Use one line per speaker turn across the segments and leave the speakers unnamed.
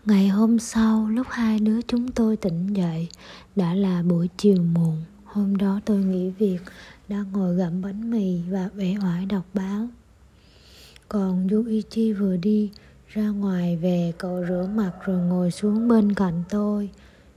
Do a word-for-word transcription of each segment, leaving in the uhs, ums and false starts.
Ngày hôm sau, lúc hai đứa chúng tôi tỉnh dậy, đã là buổi chiều muộn. Hôm đó tôi nghỉ việc, đang ngồi gặm bánh mì và uể oải đọc báo. Còn Yuichi vừa đi ra ngoài về, cậu rửa mặt rồi ngồi xuống bên cạnh tôi,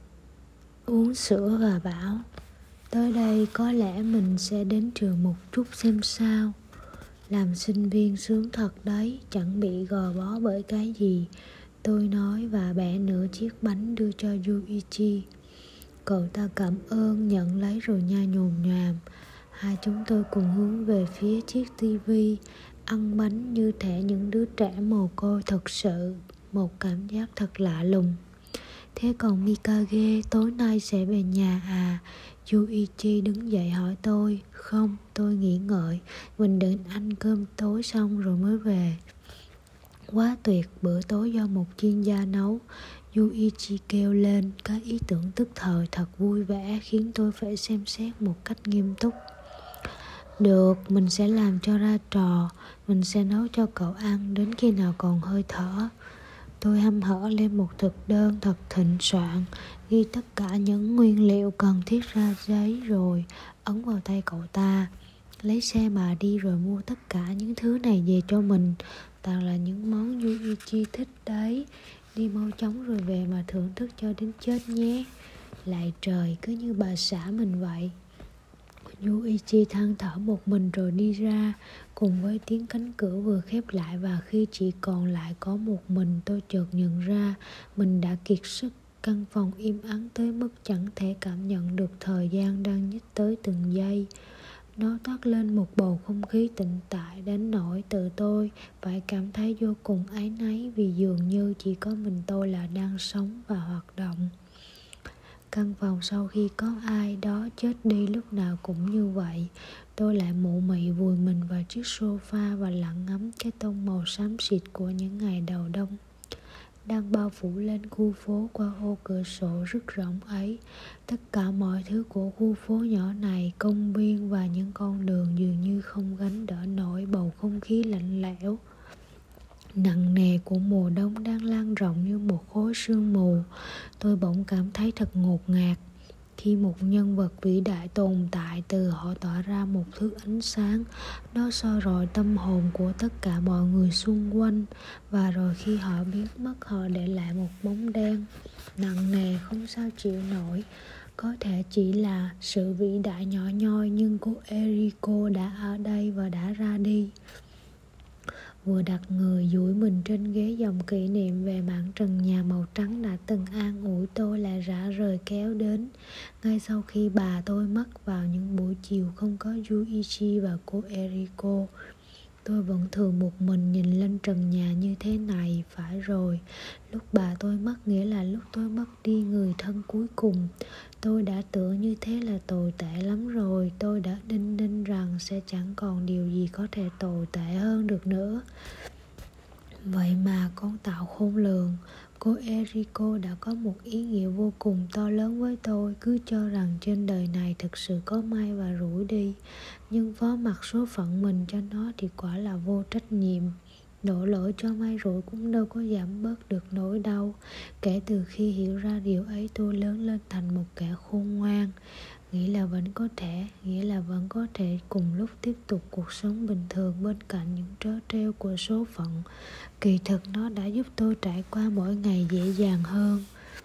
uống sữa và bảo: tới đây có lẽ mình sẽ đến trường một chút xem sao. Làm sinh viên sướng thật đấy, chẳng bị gò bó bởi cái gì, tôi nói và bẻ nửa chiếc bánh đưa cho Yuichi. Cậu ta cảm ơn, nhận lấy rồi nhai nhồm nhoàm. Hai chúng tôi cùng hướng về phía chiếc tivi, ăn bánh như thể những đứa trẻ mồ côi thật sự. Một cảm giác thật lạ lùng. Thế còn Mikage, tối nay sẽ về nhà à? Yuichi đứng dậy hỏi tôi. Không, tôi nghĩ ngợi, mình định ăn cơm tối xong rồi mới về. Quá tuyệt, bữa tối do một chuyên gia nấu, Yuichi kêu lên. Cái ý tưởng tức thời thật vui vẻ khiến tôi phải xem xét một cách nghiêm túc. Được, mình sẽ làm cho ra trò, mình sẽ nấu cho cậu ăn đến khi nào còn hơi thở. Tôi hăm hở lên một thực đơn thật thịnh soạn, ghi tất cả những nguyên liệu cần thiết ra giấy rồi ấn vào tay cậu ta. Lấy xe mà đi rồi mua tất cả những thứ này về cho mình. Toàn là những món Yuichi thích đấy. Đi mau chóng rồi về mà thưởng thức cho đến chết nhé. Lạy trời, cứ như bà xã mình vậy. Yuichi than thở một mình rồi đi ra, cùng với tiếng cánh cửa vừa khép lại. Và khi chỉ còn lại có một mình, tôi chợt nhận ra mình đã kiệt sức. Căn phòng im ắng tới mức chẳng thể cảm nhận được thời gian đang nhích tới từng giây. Nó toát lên một bầu không khí tĩnh tại đến nỗi tự tôi phải cảm thấy vô cùng áy náy, vì dường như chỉ có mình tôi là đang sống và hoạt động. Căn phòng sau khi có ai đó chết đi lúc nào cũng như vậy. Tôi lại mụ mị vùi mình vào chiếc sofa và lặng ngắm cái tông màu xám xịt của những ngày đầu đông đang bao phủ lên khu phố qua ô cửa sổ rất rộng ấy. Tất cả mọi thứ của khu phố nhỏ này, công viên và những con đường dường như không gánh đỡ nổi bầu không khí lạnh lẽo nặng nề của mùa đông đang lan rộng như một khối sương mù. Tôi bỗng cảm thấy thật ngột ngạt khi một nhân vật vĩ đại tồn tại, từ họ tỏa ra một thứ ánh sáng, nó soi rọi tâm hồn của tất cả mọi người xung quanh, và rồi khi họ biến mất, họ để lại một bóng đen nặng nề không sao chịu nổi. Có thể chỉ là sự vĩ đại nhỏ nhoi, nhưng cô Eriko đã ở đây và đã ra đi. Vừa đặt người duỗi mình trên ghế, dòng kỷ niệm về mảng trần nhà màu trắng đã từng an ủi tôi lại rã rời kéo đến. Ngay sau khi bà tôi mất vào những buổi chiều không có Yuichi và cô Eriko, tôi vẫn thường một mình nhìn lên trần nhà như thế này. Phải rồi, lúc bà tôi mất nghĩa là lúc tôi mất đi người thân cuối cùng. Tôi đã tưởng như thế là tồi tệ lắm rồi. Tôi đã đinh ninh rằng sẽ chẳng còn điều gì có thể tồi tệ hơn được nữa. Vậy mà con tạo khôn lường, cô Eriko đã có một ý nghĩa vô cùng to lớn với tôi. Cứ cho rằng trên đời này thực sự có may và rủi đi, nhưng phó mặc số phận mình cho nó thì quả là vô trách nhiệm. Đổ lỗi cho may rủi cũng đâu có giảm bớt được nỗi đau. Kể từ khi hiểu ra điều ấy, tôi lớn lên thành một kẻ khôn ngoan. Nghĩ là vẫn có thể, nghĩa là vẫn có thể cùng lúc tiếp tục cuộc sống bình thường bên cạnh những trớ trêu của số phận. Kỳ thực nó đã giúp tôi trải qua mỗi ngày dễ dàng hơn.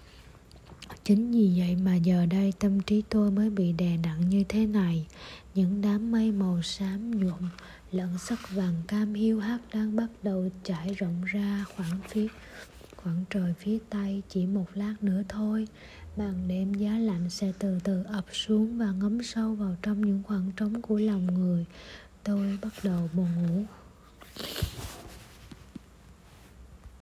Chính vì vậy mà giờ đây tâm trí tôi mới bị đè nặng như thế này. Những đám mây màu xám nhuộm lẫn sắc vàng cam hiu hắt đang bắt đầu trải rộng ra khoảng phía khoảng trời phía tây. Chỉ một lát nữa thôi, màn đêm giá lạnh sẽ từ từ ập xuống và ngấm sâu vào trong những khoảng trống của lòng người. Tôi bắt đầu buồn ngủ.